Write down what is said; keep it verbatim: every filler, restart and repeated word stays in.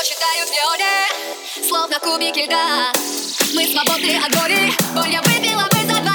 читают в неоне, словно кубики льда. Мы свободны от боли, боль я выпила бы за два.